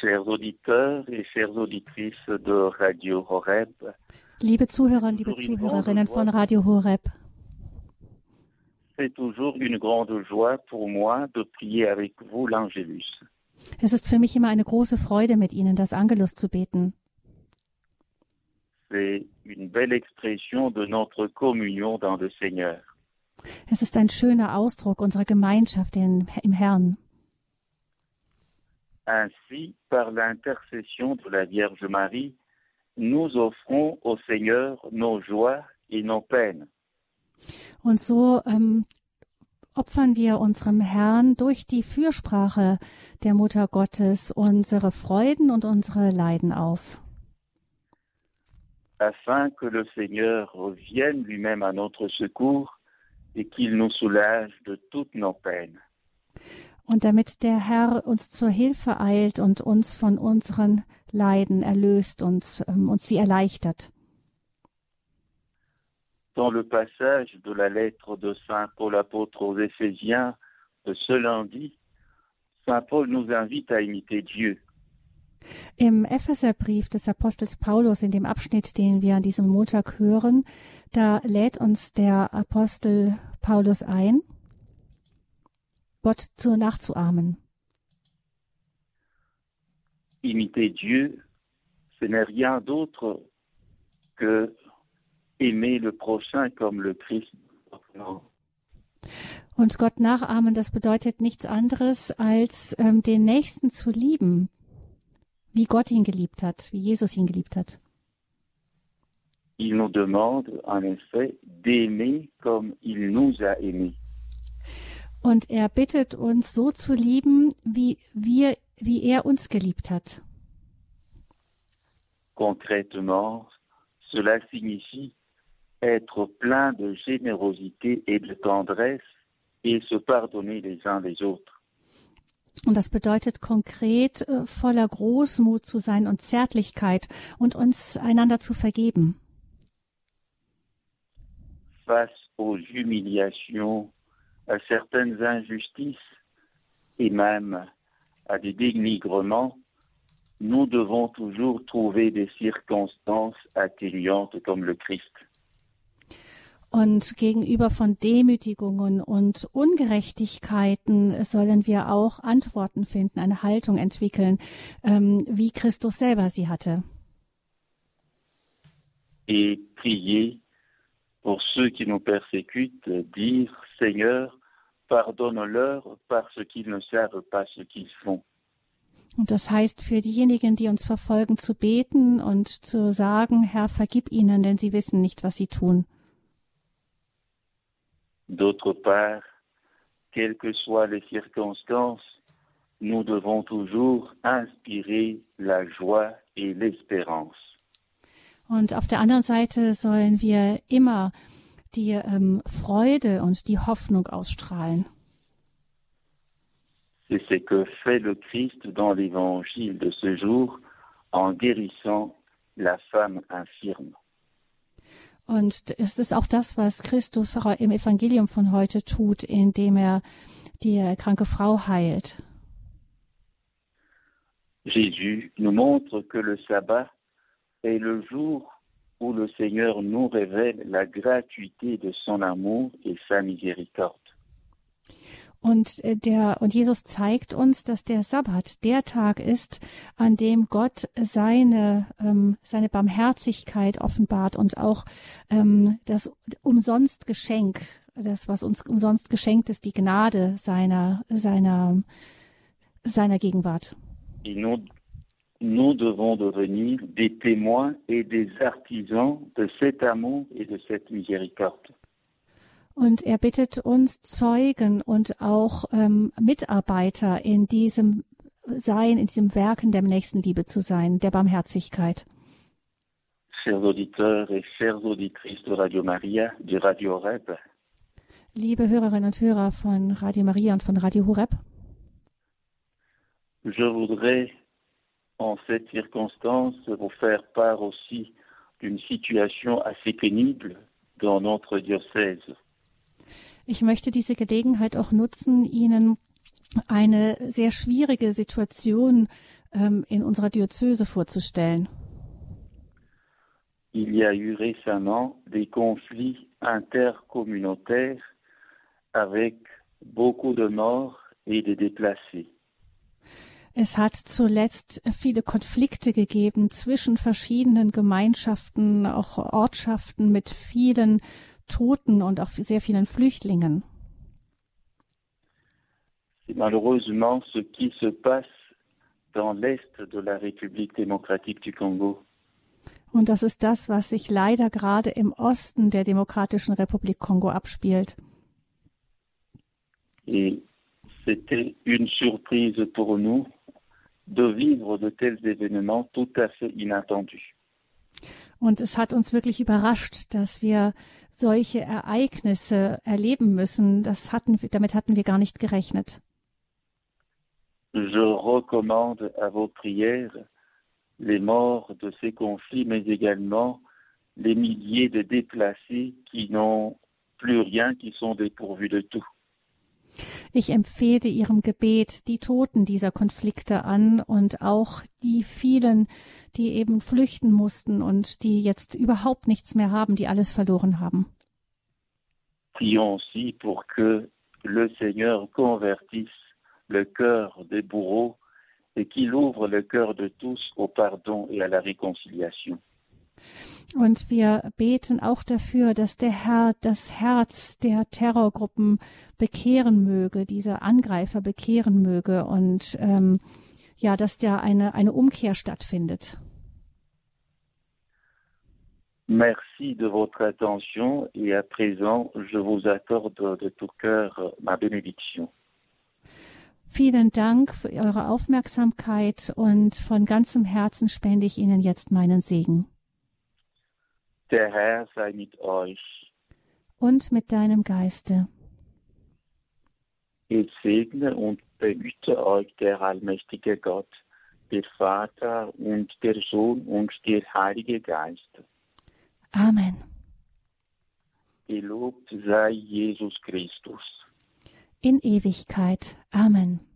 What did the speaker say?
Chers auditeurs et chères auditrices de Radio Horeb, Liebe Zuhörer und liebe Zuhörerinnen von Radio Horeb, c'est toujours une grande joie pour moi de prier avec vous l'Angelus. es ist für mich immer eine große Freude, mit Ihnen das Angelus zu beten. C'est une belle expression de notre communion dans le Seigneur. Es ist ein schöner Ausdruck unserer Gemeinschaft im Herrn. Ainsi, par l'intercession de la Vierge Marie, nous offrons au Seigneur nos joies et nos peines. Und so opfern wir unserem Herrn durch die Fürsprache der Mutter Gottes unsere Freuden und unsere Leiden auf, Afin que le Seigneur vienne lui-même à notre secours et qu'il nous soulage de toutes nos peines. und damit der Herr uns zur Hilfe eilt und uns von unseren Leiden erlöst und uns sie erleichtert. Dans le passage de la lettre de Saint Paul apôtre aux Éphésiens de ce lundi, Saint Paul nous invite à imiter Dieu. Im Epheserbrief des Apostels Paulus, in dem Abschnitt, den wir an diesem Montag hören, da lädt uns der Apostel Paulus ein, Gott nachzuahmen. Imiter Dieu, ce n'est rien d'autre que aimer le prochain comme le Christ. Und Gott nachahmen, das bedeutet nichts anderes, als den Nächsten zu lieben, wie Gott ihn geliebt hat, wie Jesus ihn geliebt hat. Il nous demande en effet d'aimer comme il nous a aimés. Und er bittet uns, so zu lieben, wie er uns geliebt hat. Concrètement, cela signifie être plein de générosité et de tendresse et se pardonner les uns les autres. Und das bedeutet konkret, voller Großmut zu sein und Zärtlichkeit und uns einander zu vergeben. Face aux humiliations, à certaines injustices et même à des dénigrements, nous devons toujours trouver des circonstances atténuantes comme le Christ. Und gegenüber von Demütigungen und Ungerechtigkeiten sollen wir auch Antworten finden, eine Haltung entwickeln, wie Christus selber sie hatte. Et prier pour ceux qui nous persécutent, dire Seigneur, pardonne-leur parce qu'ils ne savent pas ce qu'ils font. Und das heißt, für diejenigen, die uns verfolgen, zu beten und zu sagen, Herr, vergib ihnen, denn sie wissen nicht, was sie tun. D'autre part, quelles que soient les circonstances, nous devons toujours inspirer la joie et l'espérance. Und auf der anderen Seite sollen wir immer die Freude und die Hoffnung ausstrahlen. C'est ce que fait le Christ dans l'évangile de ce jour en guérissant la femme infirme. Und es ist auch das, was Christus im Evangelium von heute tut, indem er die kranke Frau heilt. Jésus nous montre que le sabbat est le jour où le Seigneur nous révèle la gratuité de son amour et sa miséricorde. Und Jesus zeigt uns, dass der Sabbat der Tag ist, an dem Gott seine Barmherzigkeit offenbart und auch das Umsonstgeschenk, das, was uns umsonst geschenkt ist, die Gnade seiner Gegenwart. Et nous devons devenir des témoins et des artisans de cet amour et de cette miséricorde. Und er bittet uns, Zeugen und auch Mitarbeiter in diesem Werken der Nächstenliebe zu sein, der Barmherzigkeit. Chers auditeurs et chères auditrices de Radio Maria, du Radio Horeb, liebe Hörerinnen und Hörer von Radio Maria und von Radio Horeb, je voudrais en cette circonstance vous faire part aussi d'une situation assez pénible dans notre diocèse. Ich möchte diese Gelegenheit auch nutzen, Ihnen eine sehr schwierige Situation in unserer Diözese vorzustellen. Il y a eu récemment des conflits intercommunautaires avec beaucoup de morts et de déplacés. Es hat zuletzt viele Konflikte gegeben zwischen verschiedenen Gemeinschaften, auch Ortschaften mit vielen Toten und auch sehr vielen Flüchtlingen. C'est malheureusement ce qui se passe dans l'est de la République démocratique du Congo. Und das ist das, was sich leider gerade im Osten der Demokratischen Republik Kongo abspielt. Et c'était une surprise pour nous de vivre de tels événements tout à fait inattendus. Und es hat uns wirklich überrascht, dass wir solche Ereignisse erleben müssen. Damit hatten wir gar nicht gerechnet. Je recommande à vos prières les morts de ces conflits, mais également les milliers de déplacés qui n'ont plus rien, qui sont dépourvus de tout. Ich empfehle Ihrem Gebet die Toten dieser Konflikte an und auch die vielen, die eben flüchten mussten und die jetzt überhaupt nichts mehr haben, die alles verloren haben. Prions aussi pour que le Seigneur convertisse le cœur des bourreaux et qu'il ouvre le cœur de tous au pardon et à la réconciliation. Und wir beten auch dafür, dass der Herr das Herz der Terrorgruppen bekehren möge, diese Angreifer bekehren möge und dass da eine Umkehr stattfindet. Merci de votre attention et à présent, je vous accorde de tout cœur ma bénédiction. Vielen Dank für eure Aufmerksamkeit und von ganzem Herzen spende ich Ihnen jetzt meinen Segen. Der Herr sei mit euch. Und mit deinem Geiste. Es segne und behüte euch der allmächtige Gott, der Vater und der Sohn und der Heilige Geist. Amen. Gelobt sei Jesus Christus. In Ewigkeit. Amen.